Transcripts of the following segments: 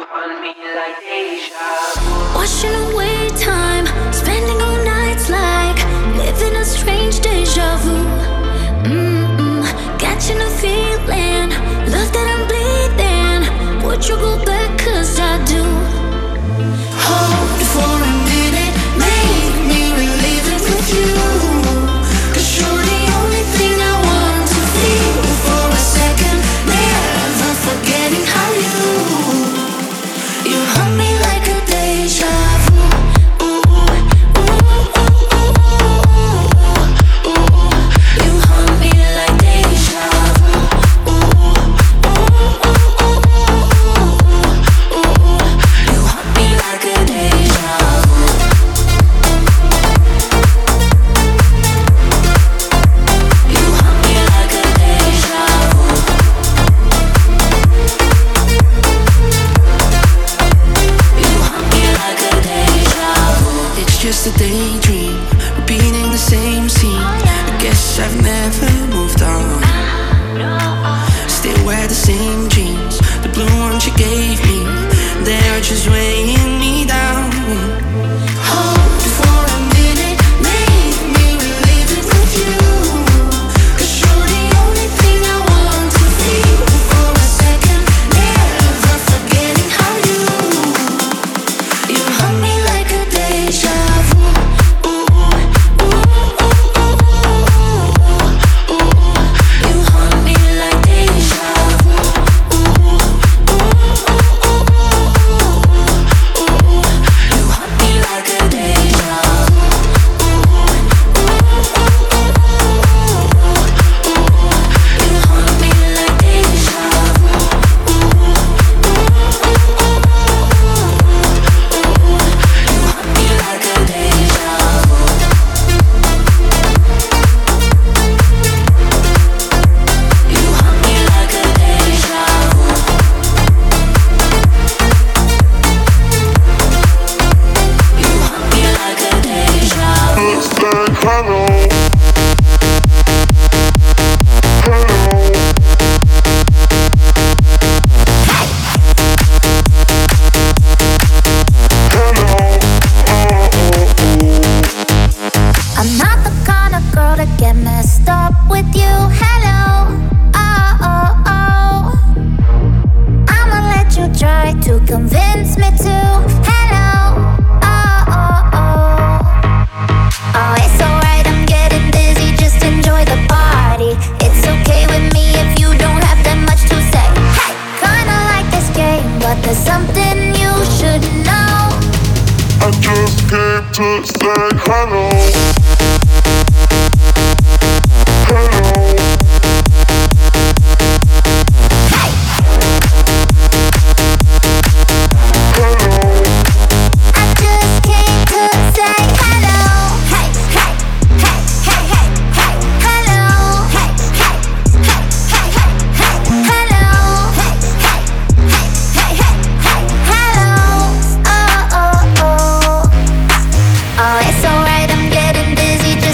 Washing away time, spending all nights like living a strange deja vu. Catching a feeling, love that I'm bleeding. Would you go back? 'Cause I do. Hold for a minute, make me relive it with you. 'Cause you're the only thing I want to feel for a second. Never forgetting how you haunt me like a deja vu. You haunt me like deja vu. You haunt me like a deja vu. You haunt me like a deja vu. You haunt me like a deja vu. It's just a daydream, repeating the same scene. I guess I've never moved on. Still wear the same jeans, the blue ones you gave me. They're just weighing me down. Hold for a minute, make me relive it with you. 'Cause you're the only thing I want to feel for a second. Never forgetting how you haunt me like a deja vu. You haunt me like deja vu. You haunt me like a deja vu. You haunt me like deja vu. You haunt me like a deja vu. You haunt me like a deja vu. You haunt me like a deja vu. I'm not the kind of girl to get messed up with you. Hello, oh, oh, oh. I'ma let you try to convince me to. Hello, oh, oh, oh. Oh, it's alright, I'm getting busy, just enjoy the party. It's okay with me if you don't have that much to say. Hey, kinda like this game, but there's something you should know. I just came to say hello. Hello. Hey, Hello. I just came to say hello. Hey, hey, hey, hey, hey, hey. Hello. Hey, hey, hey, hey, hey, hey. Hello. Hey, hey, hey, hey, hey, hey. Hello. Oh, oh, oh. Oh, it's alright, I'm getting busy, just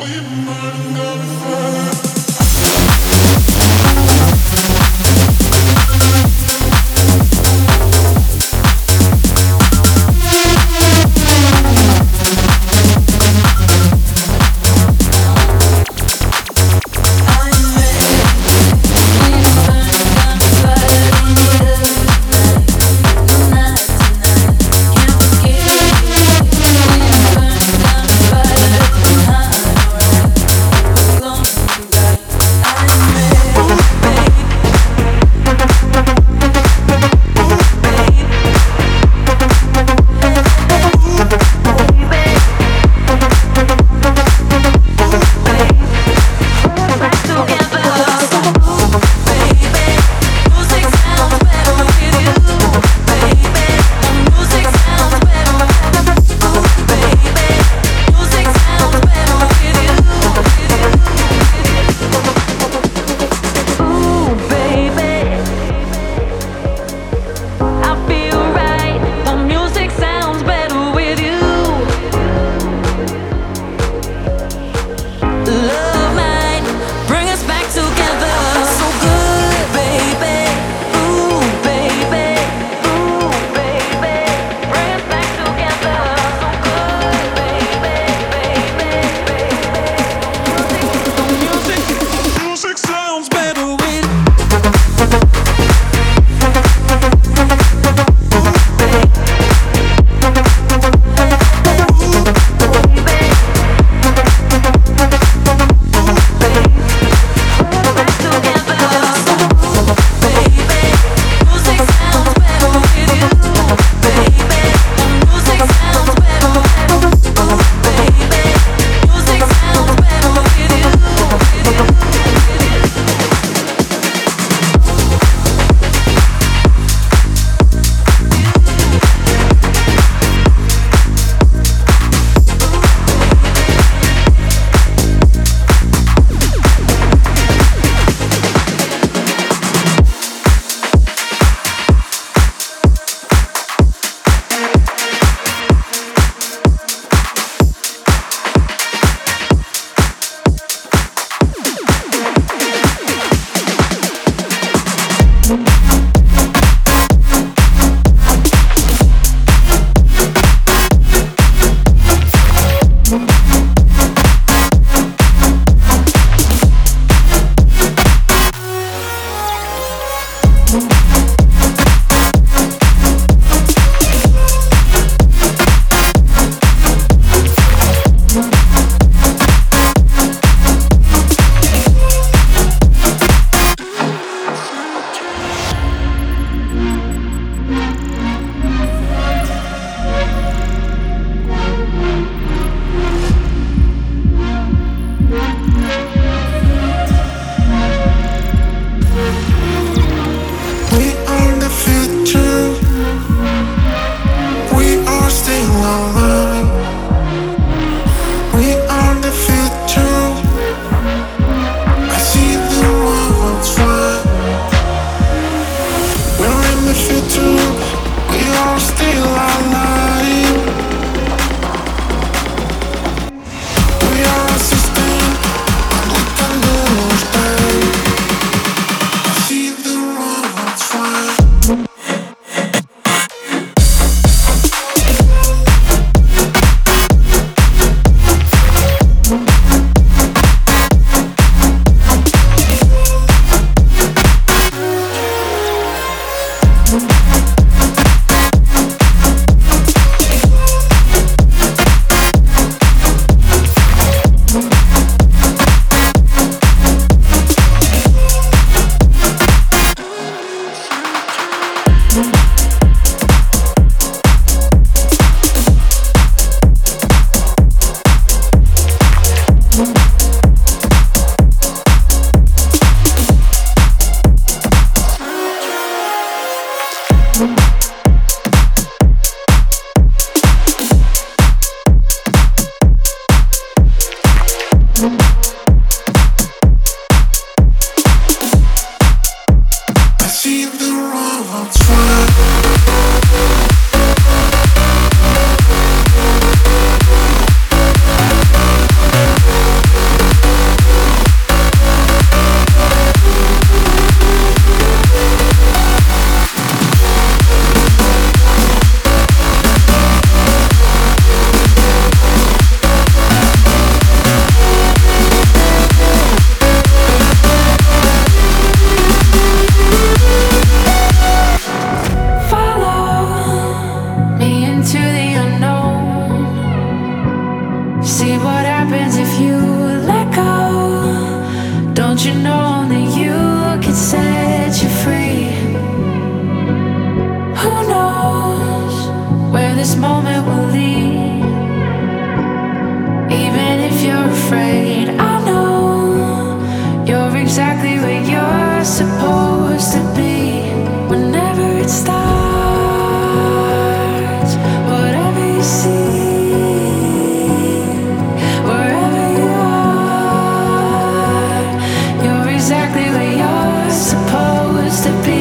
As long as you got happens if you let go? Don't you know only you can set you free? Who knows where this moment will lead? Even if you're afraid, I know you're exactly where you're supposed to be. Whenever it starts, whatever you see, wherever you are, you're exactly where you're supposed to be.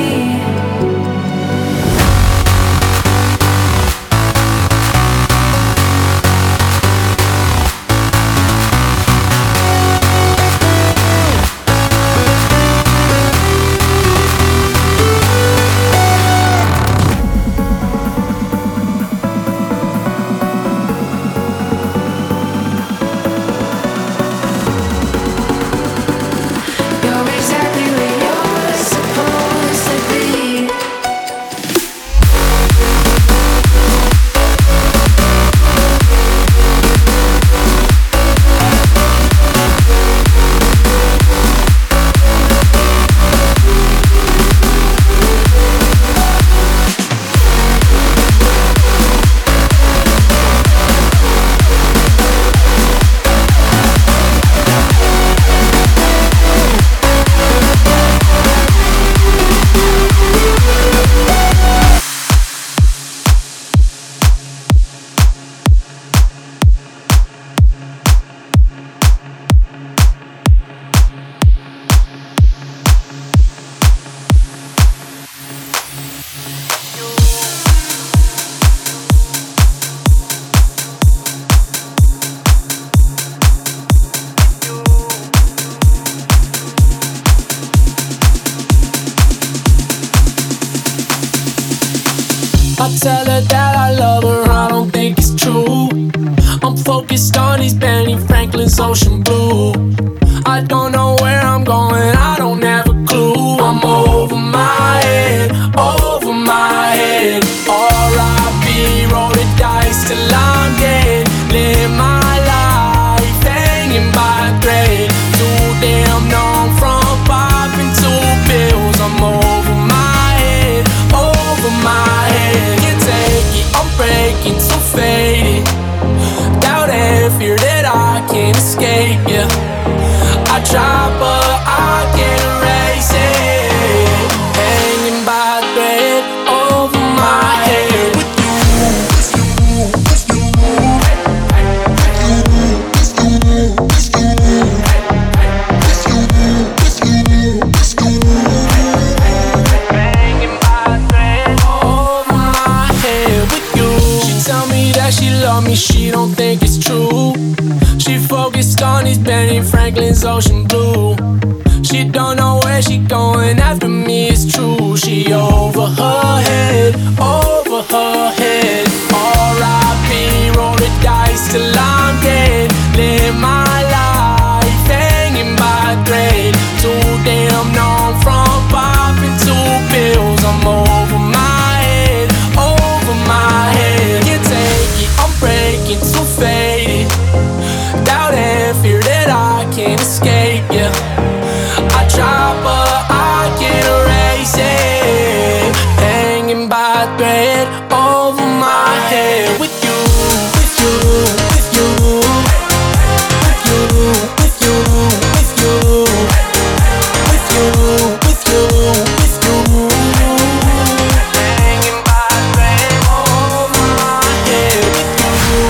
I tell her that I love her, I don't think it's true. I'm focused on these Benny Franklin's ocean blue. I don't know where I'm going, I don't have a clue. I'm over my head, over my head. R.I.P. roll the dice till I'm dead. Live my life hanging by a thread. Too damn numb from popping 2 pills. I'm over my head, over my head. Can't take it, I'm breaking, so faded. Doubt and fear that I can't escape, yeah. I try but I can't erase it. Hanging by a thread over my head. With you, with you, hanging by a thread over my head. With you, she tell me that she love me, she don't think it's true. She focused on these Benny Franklin's ocean blue. She don't know where she going after me, it's true. She over her head, over her head. R.I.P. roll the dice till I'm dead. Live my life hanging by a thread. Too damn numb from popping 2 pills. I'm over my head, over my head. Can't take it, I'm breaking, too faded. Doubt and fear that I can't escape, yeah. I try but I can't erase it. Hanging by a thread over my head. With you, with you, with you, with you, with you, with you, with you, with you, with you. Hanging by a thread over my head. With you.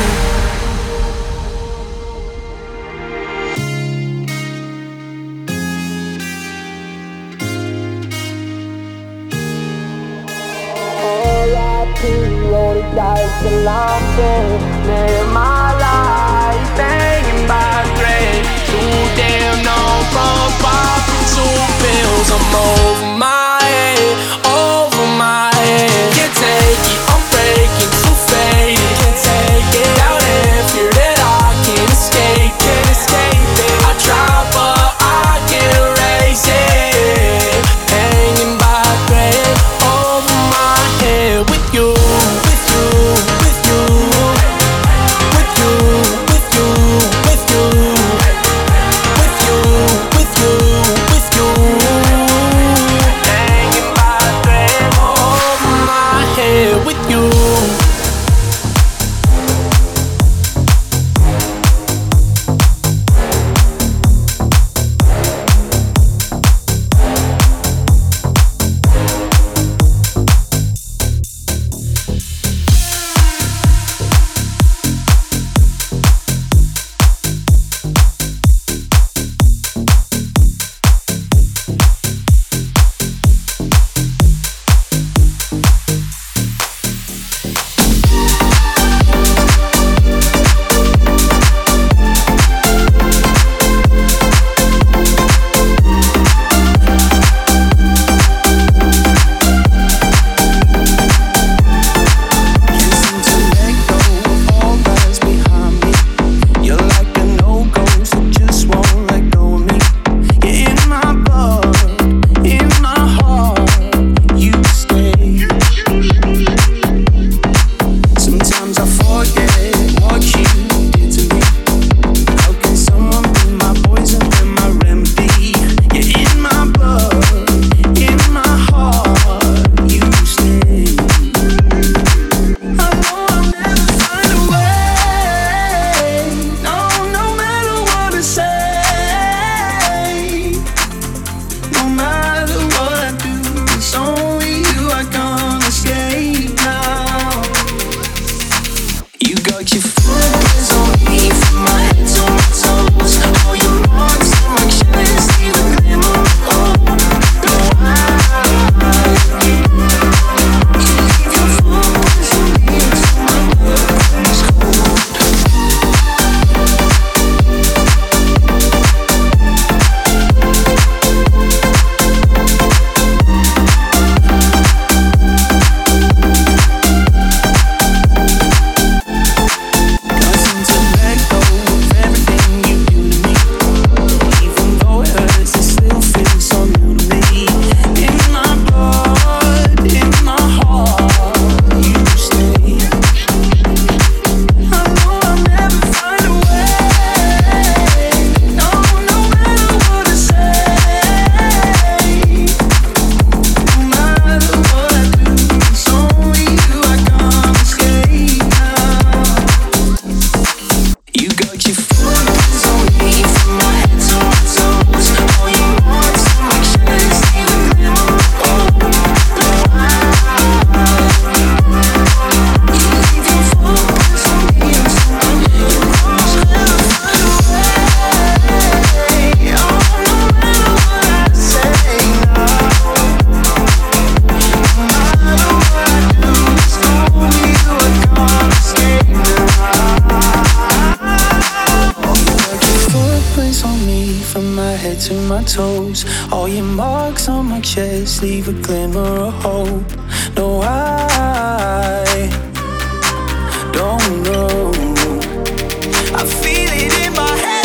R.I.P. roll the dice till I'm dead. Live my life hanging by a thread. Too damn numb from popping 2 pills. I'm over my head, over my head. Can't take it, I'm breaking, too faded. Can't take it, doubt and fear that I can't escape, can't escape it. I try but I can't erase it. Hanging by a thread over my head. With you, with you, with you, with you, with you. Toes, all your marks on my chest leave a glimmer of hope. No, I don't know. I feel it in my head.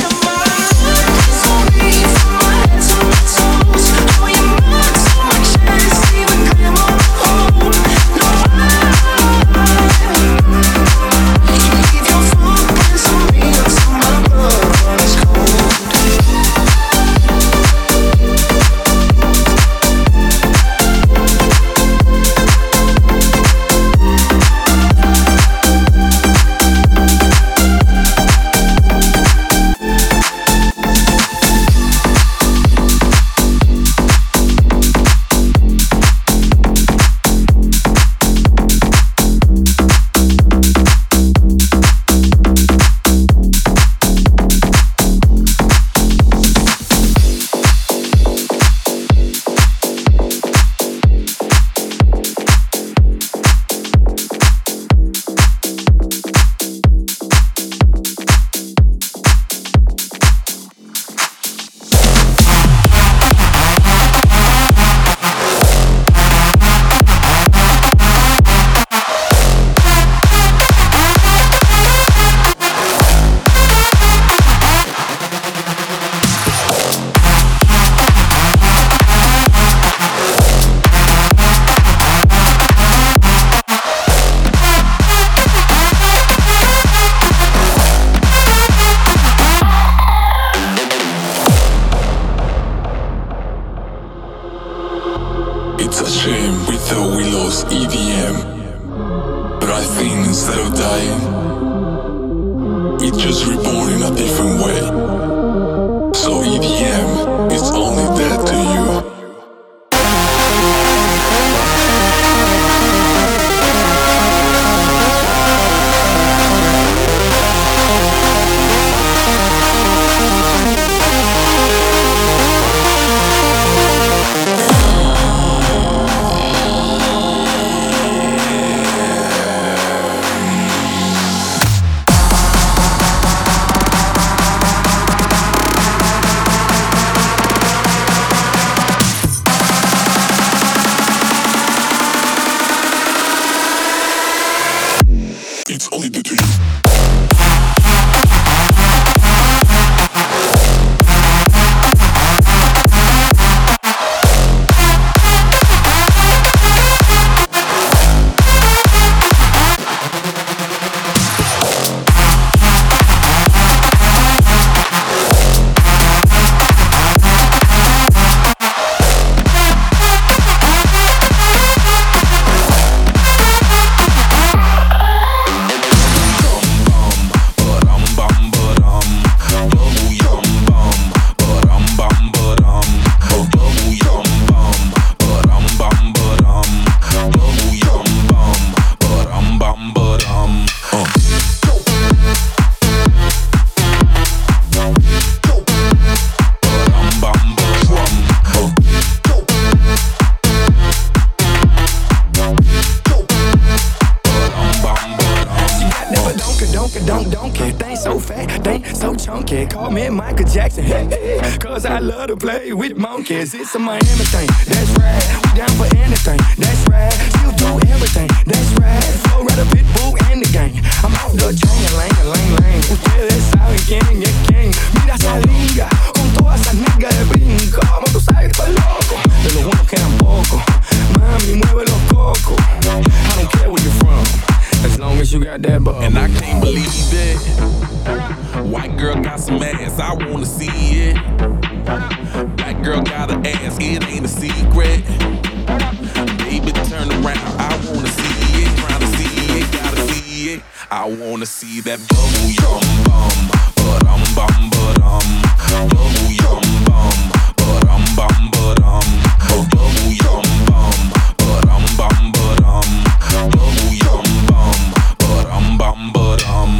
It's a shame we thought we lost EDM, but I think instead of dying, it's just reborn in a different way. So EDM is only dead to you. It's only dead to you. Call me Michael Jackson, cause I love to play with monkeys. It's a Miami thing, that's right. We down for anything, that's right. She'll do everything, that's right. Flow right a pitbull in the game. I'm out the chain, lane. Ustedes saben quién es quién. Mira esa liga, con todas esas niggas de brinco. Como tú sabes, estoy loco, de los buenos quedan pocos. Mami, mueve los cocos. I don't care where you're from, as long as you got that bubble. And I can't believe it. White girl got some ass, I wanna see it. Black girl got an ass, it ain't a secret. Baby, turn around, I wanna see it. Tryna see it, gotta see it. I wanna see that bubble yum bum, ba-dum bum ba-dum. Bubble yum bum, ba-dum bum ba-dum. Bubble yum bum, ba-dum bum ba-dum. Bubble yum bum, ba-dum bum ba-dum.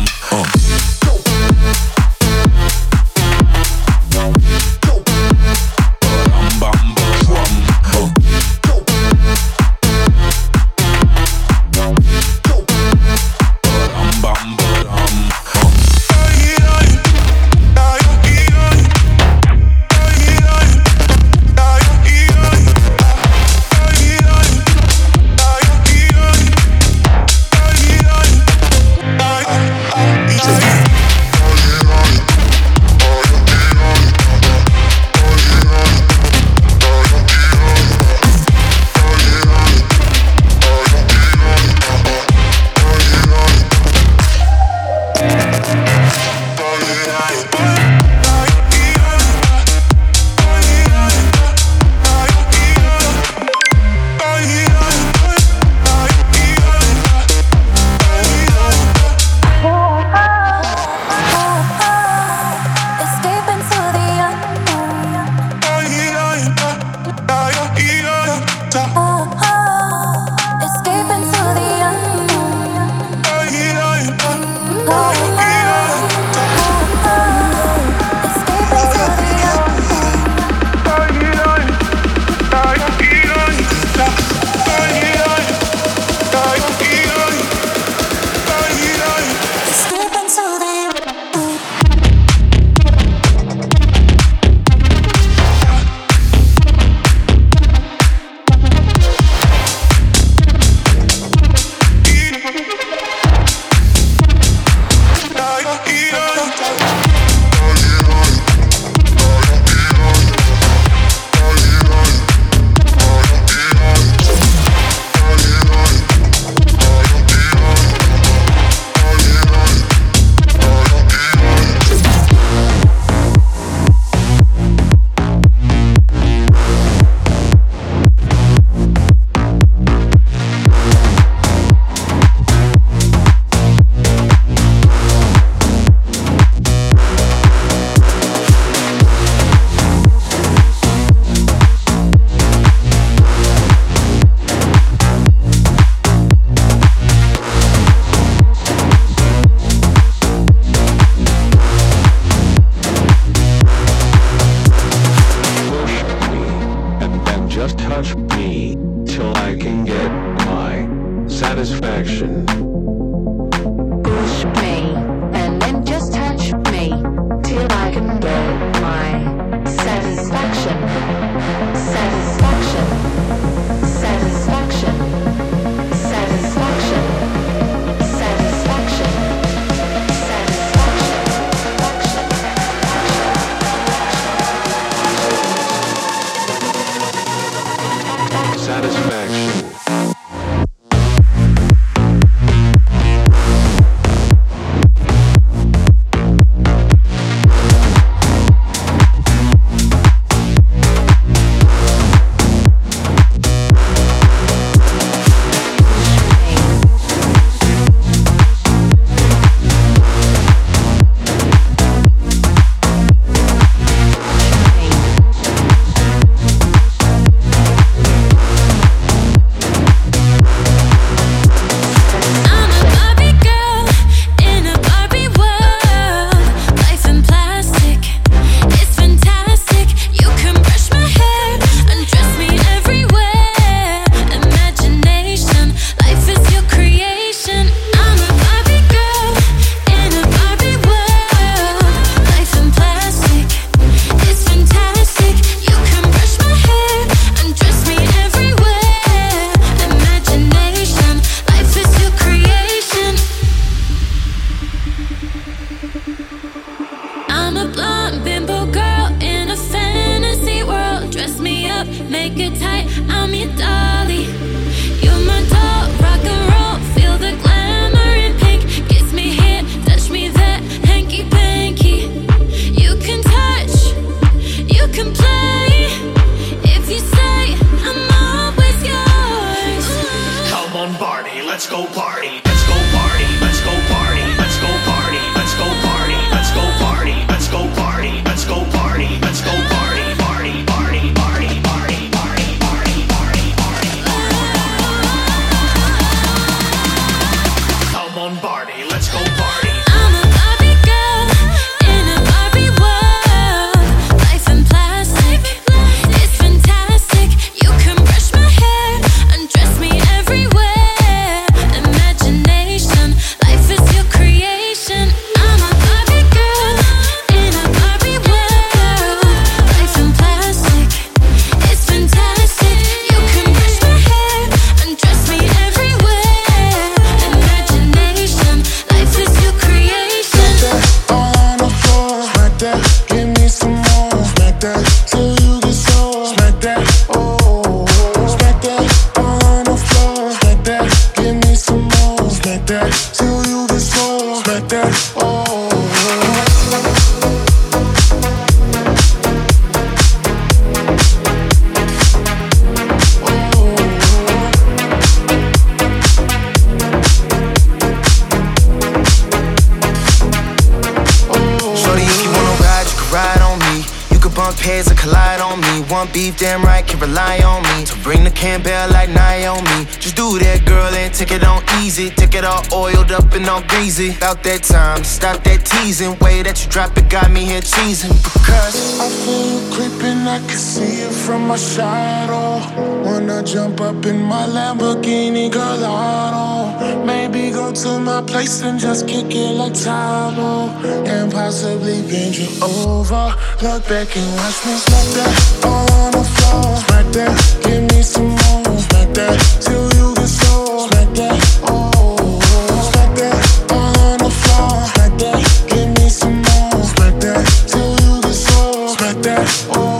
One pairs that collide on me. One beef, damn right, can rely on me. To bring the Campbell like Naomi. Just do that, girl, and take it on easy. Take it all oiled up and all greasy. About that time, stop that teasing. Way that you drop it got me here cheesing. Because I feel you creeping, I can see it from my shadow. Wanna jump up in my Lamborghini Gallardo. Maybe go to my place and just kick it like Tybo. And possibly bend you over. Look back and watch me smack that all on the floor. Smack that, give me some more. Smack that, till you get sore. Smack that, oh. Smack that, all on the floor. Smack that, give me some more. Smack that, till you get sore. Smack that, oh.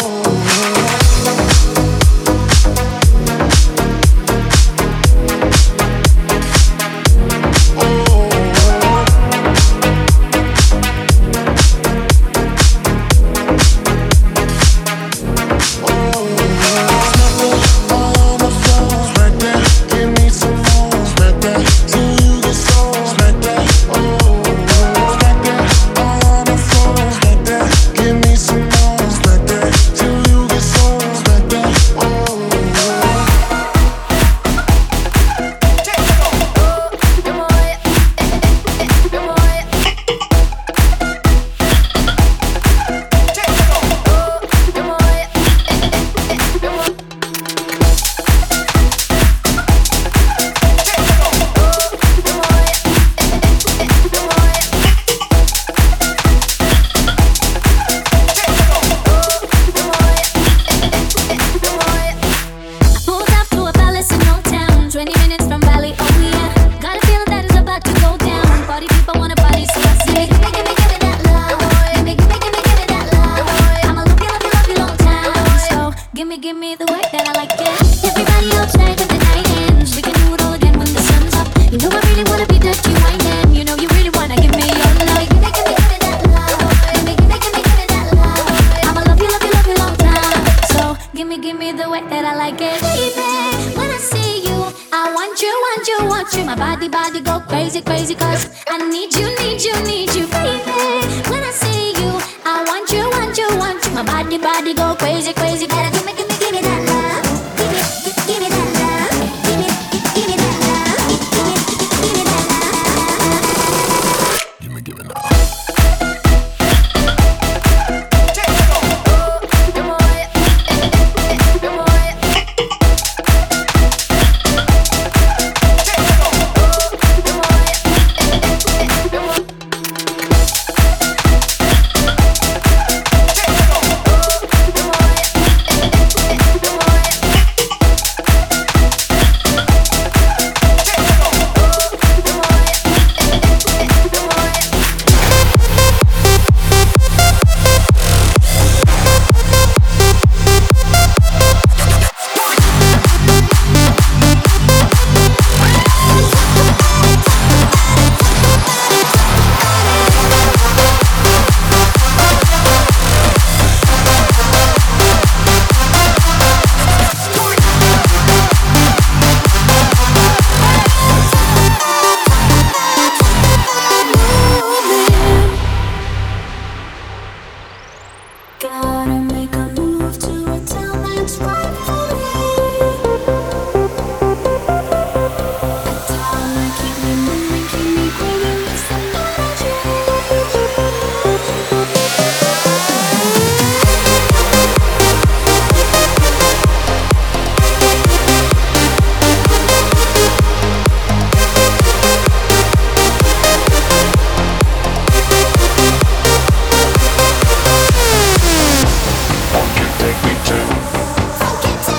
Take me to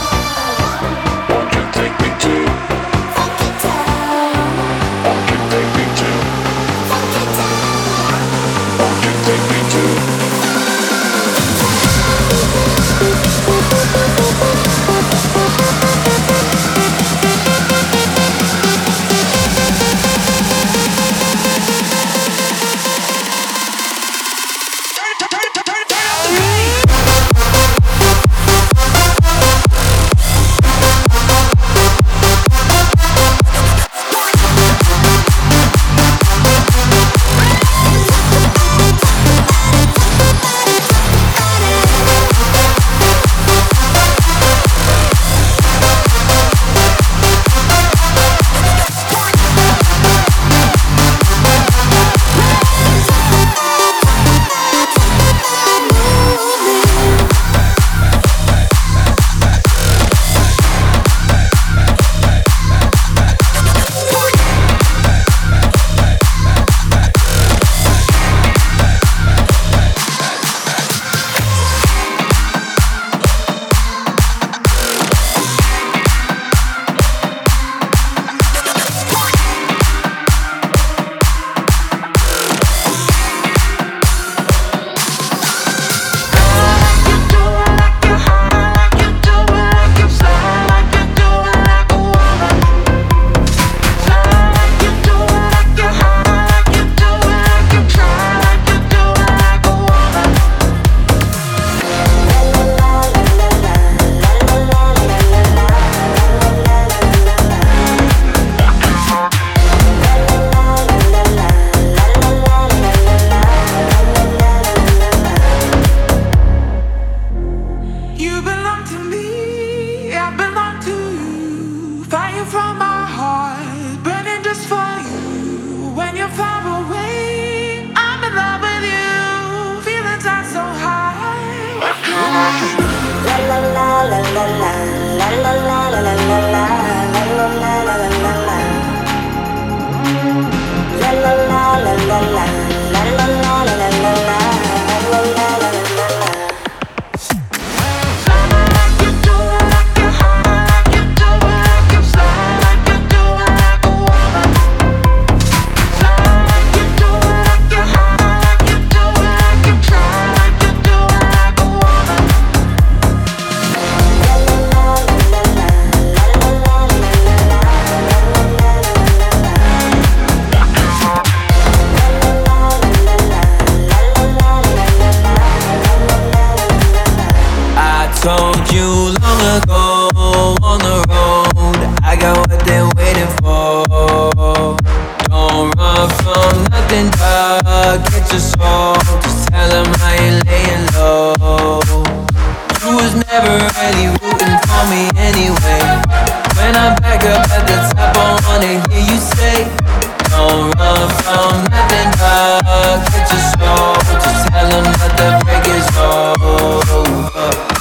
told you long ago on the road, I got what they're waiting for. Don't run from nothing, dog, get your soul. Just tell them I ain't laying low. You was never really rooting for me anyway. When I'm back up at the top, I wanna hear you say, don't run from nothing, dog, get your soul. Just tell them that the break is over.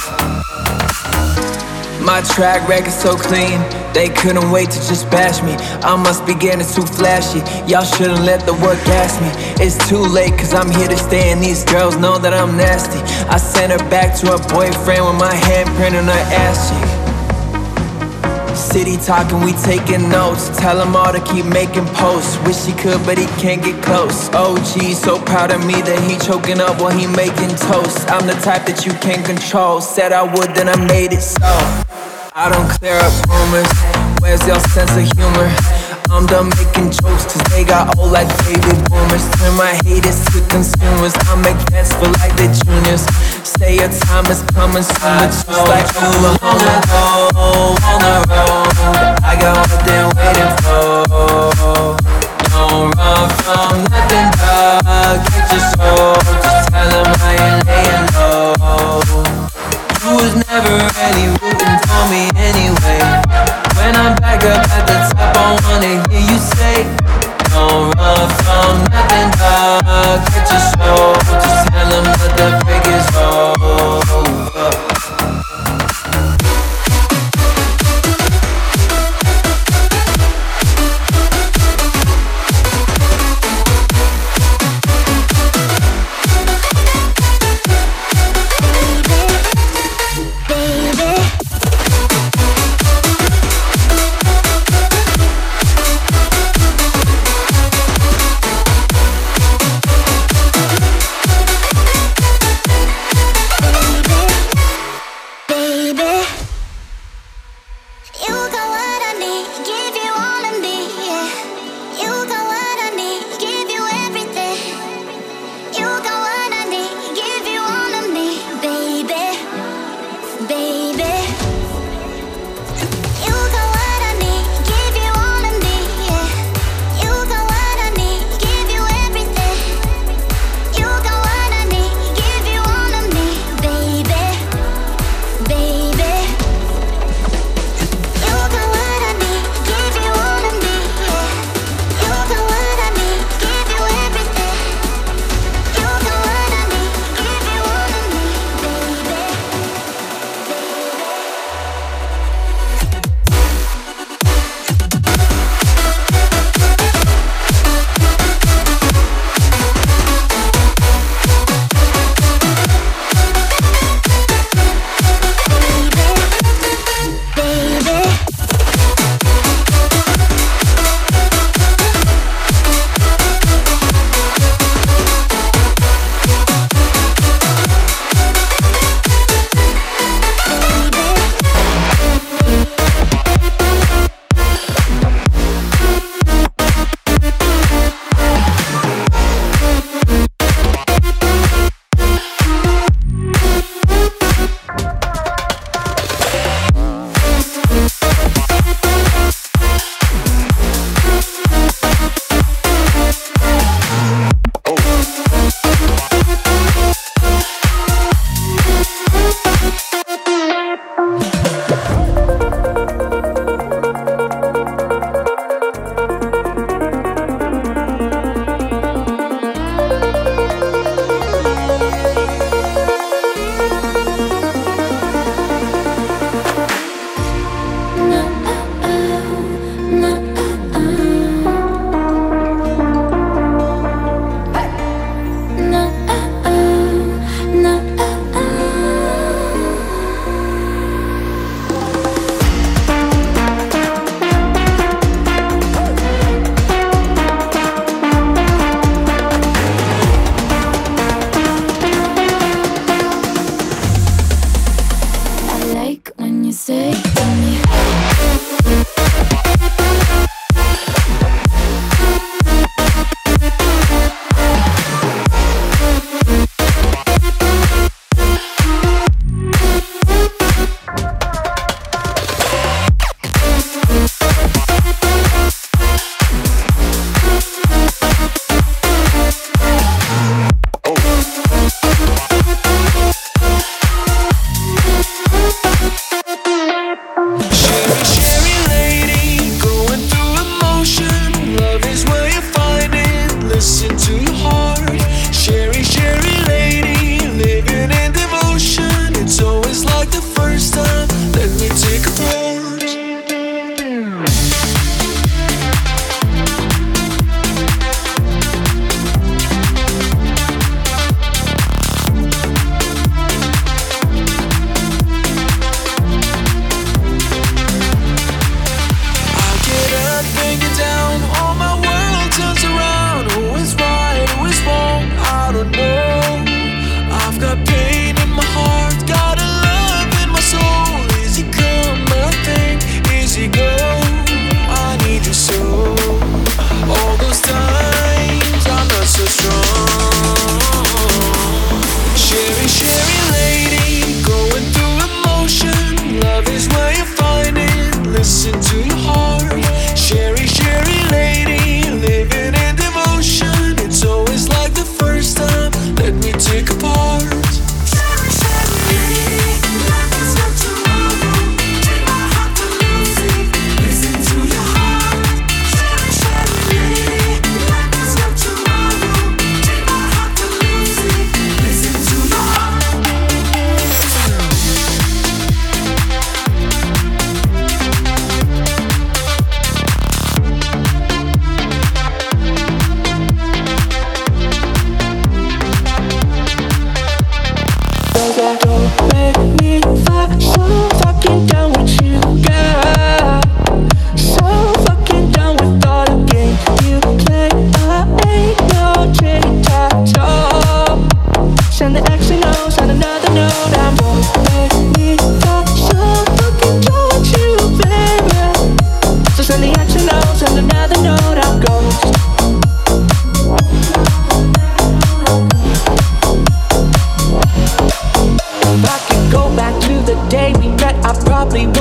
My track record so clean, they couldn't wait to just bash me. I must be getting too flashy, y'all shouldn't let the work gas me. It's too late cause I'm here to stay and these girls know that I'm nasty. I sent her back to her boyfriend with my handprint on her ass cheek. City talking, we taking notes. Tell him all to keep making posts. Wish he could, but he can't get close. OG, so proud of me that he choking up while he making toast. I'm the type that you can't control. Said I would, then I made it so. I don't clear up rumors. Where's your sense of humor? I'm done making jokes cause they got old like baby boomers. Turn my haters to consumers. I make bets for like the juniors. Say your time is coming soon, but just like Oklahoma. On the road, I got what they're waiting for. Don't run from nothing, dog, get your soul. Just tell them I ain't laying low. You was never really rooting for me anyway. When I'm back up at the top, I wanna hear you say, don't run from nothing, dog, get your soul. Just tell them that the break is over. Baby,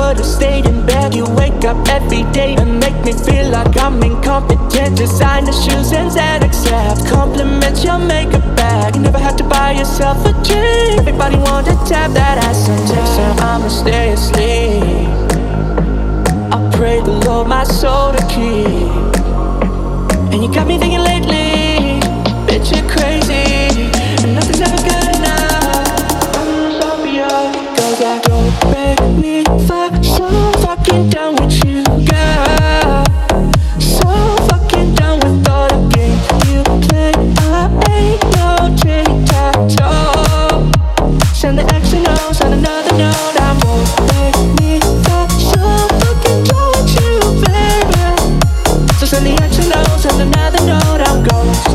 could've stayed in bed. You wake up every day and make me feel like I'm incompetent. Designer shoes and Xanax abs, compliments your makeup bag. You never had to buy yourself a drink. Everybody wanted to tap that ass and text her I'ma stay asleep. I pray the Lord my soul to keep. And you got me thinking lately, bitch you're crazy, and nothing's ever good enough. I'm so beyond, cause I don't make me fuck. So fucking done with you, girl. So fucking done with all the games you play. I ain't no tic-tac-toe. Send the X and O's on another note. I won't make me fuck. So fucking done with you, baby. So send the X and O's on another note. I'm ghost.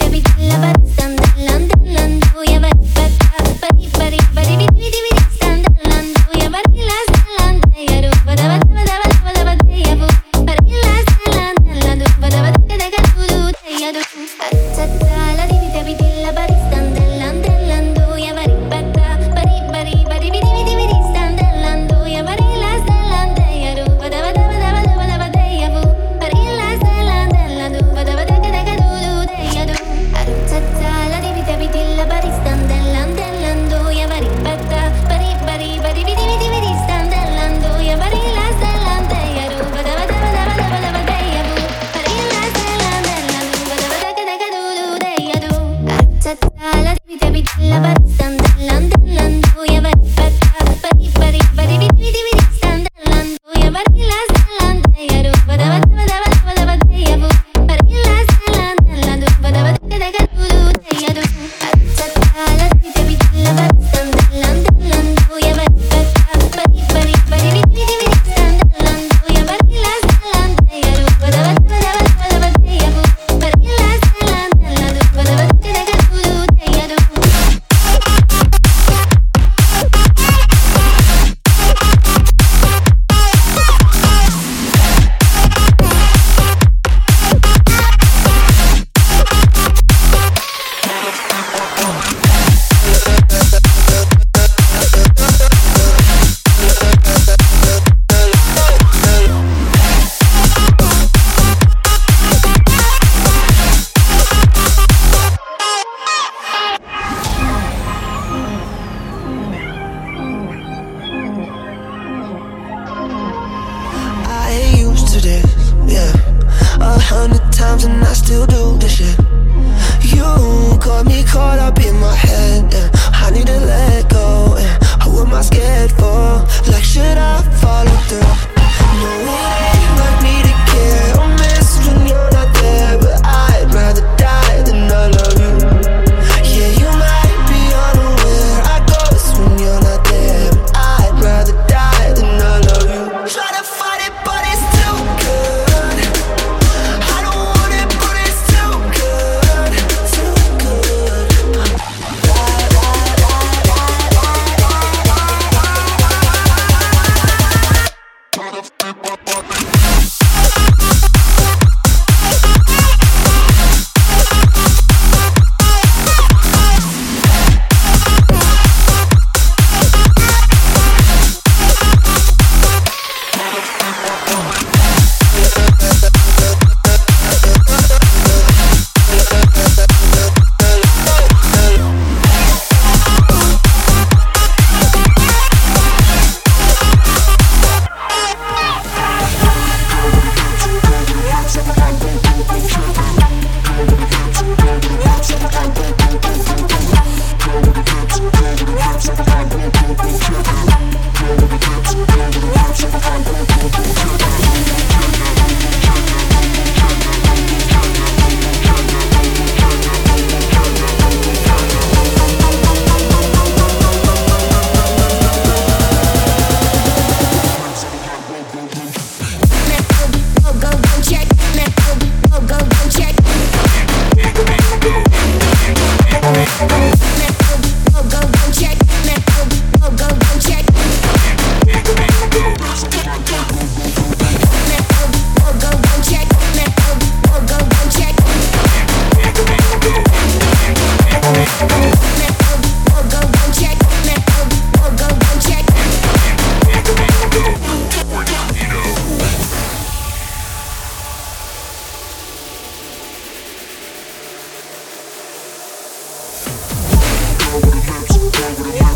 Stand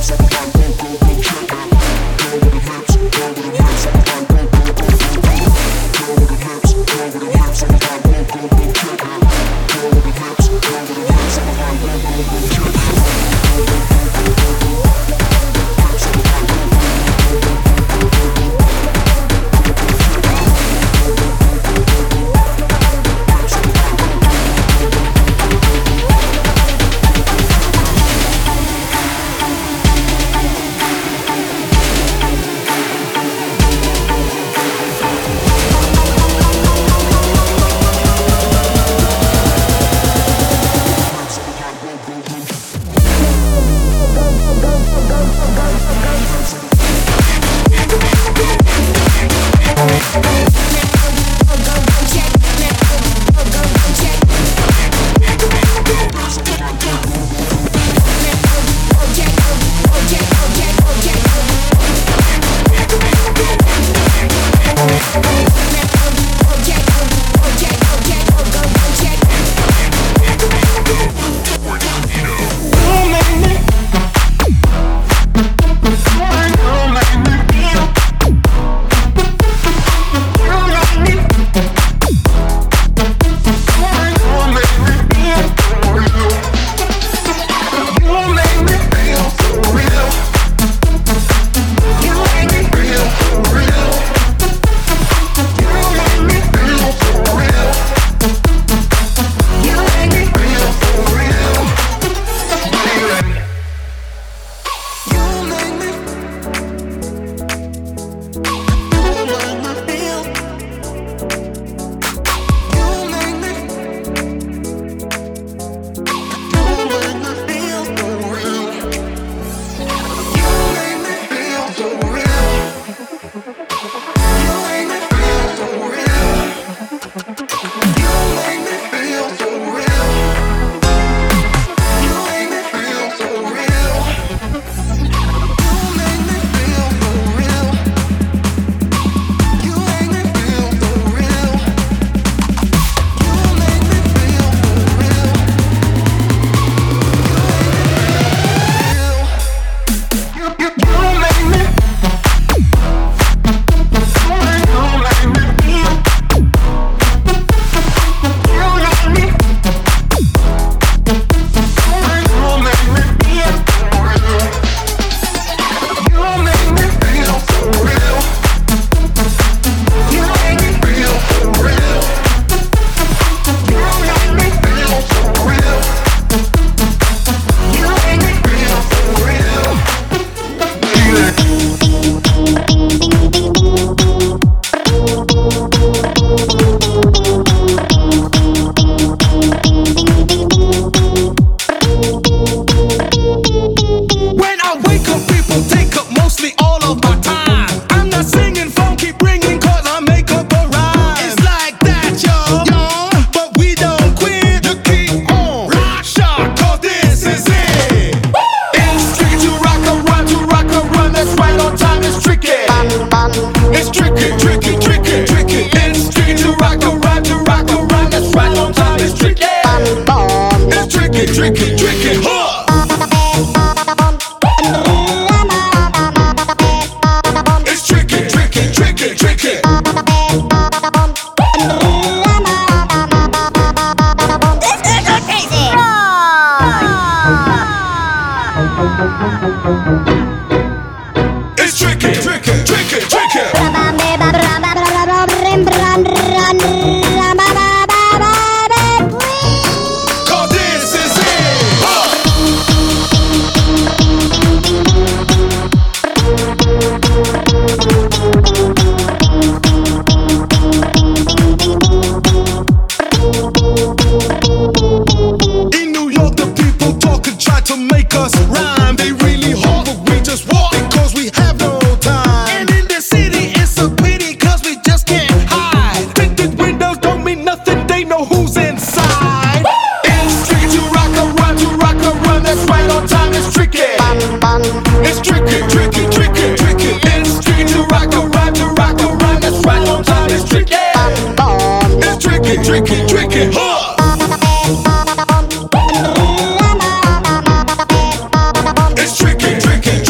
It's tricky, tricky.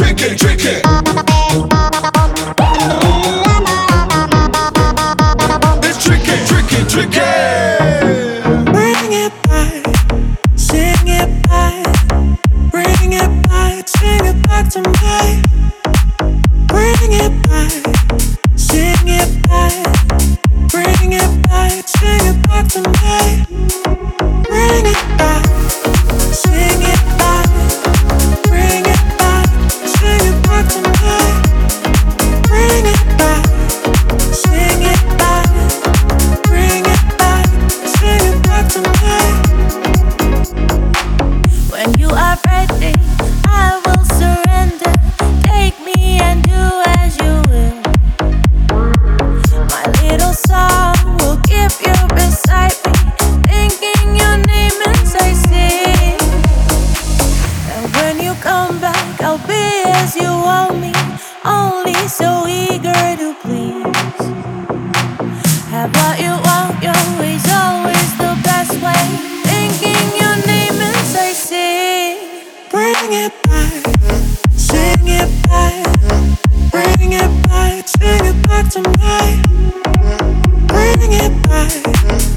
Yeah. Bring it back, sing it back. Bring it back, sing it back to me. Bring it back, sing it back. Bring it back, sing it back to me. Bring it back, sing it back. Bring it back, sing it back to me. Bring it back, sing it back. Bring it back, sing it back to me. When you are ready, I will surrender. Take me and do as you will. My little song will keep you beside me, thinking your name as I sing. And when you come back, I'll be as you want me, only so eager to please. Have what you want, your way's always the best way, thinking your name as I sing. Bring it back, sing it back. Bring it back, sing it back to me. Bring it back,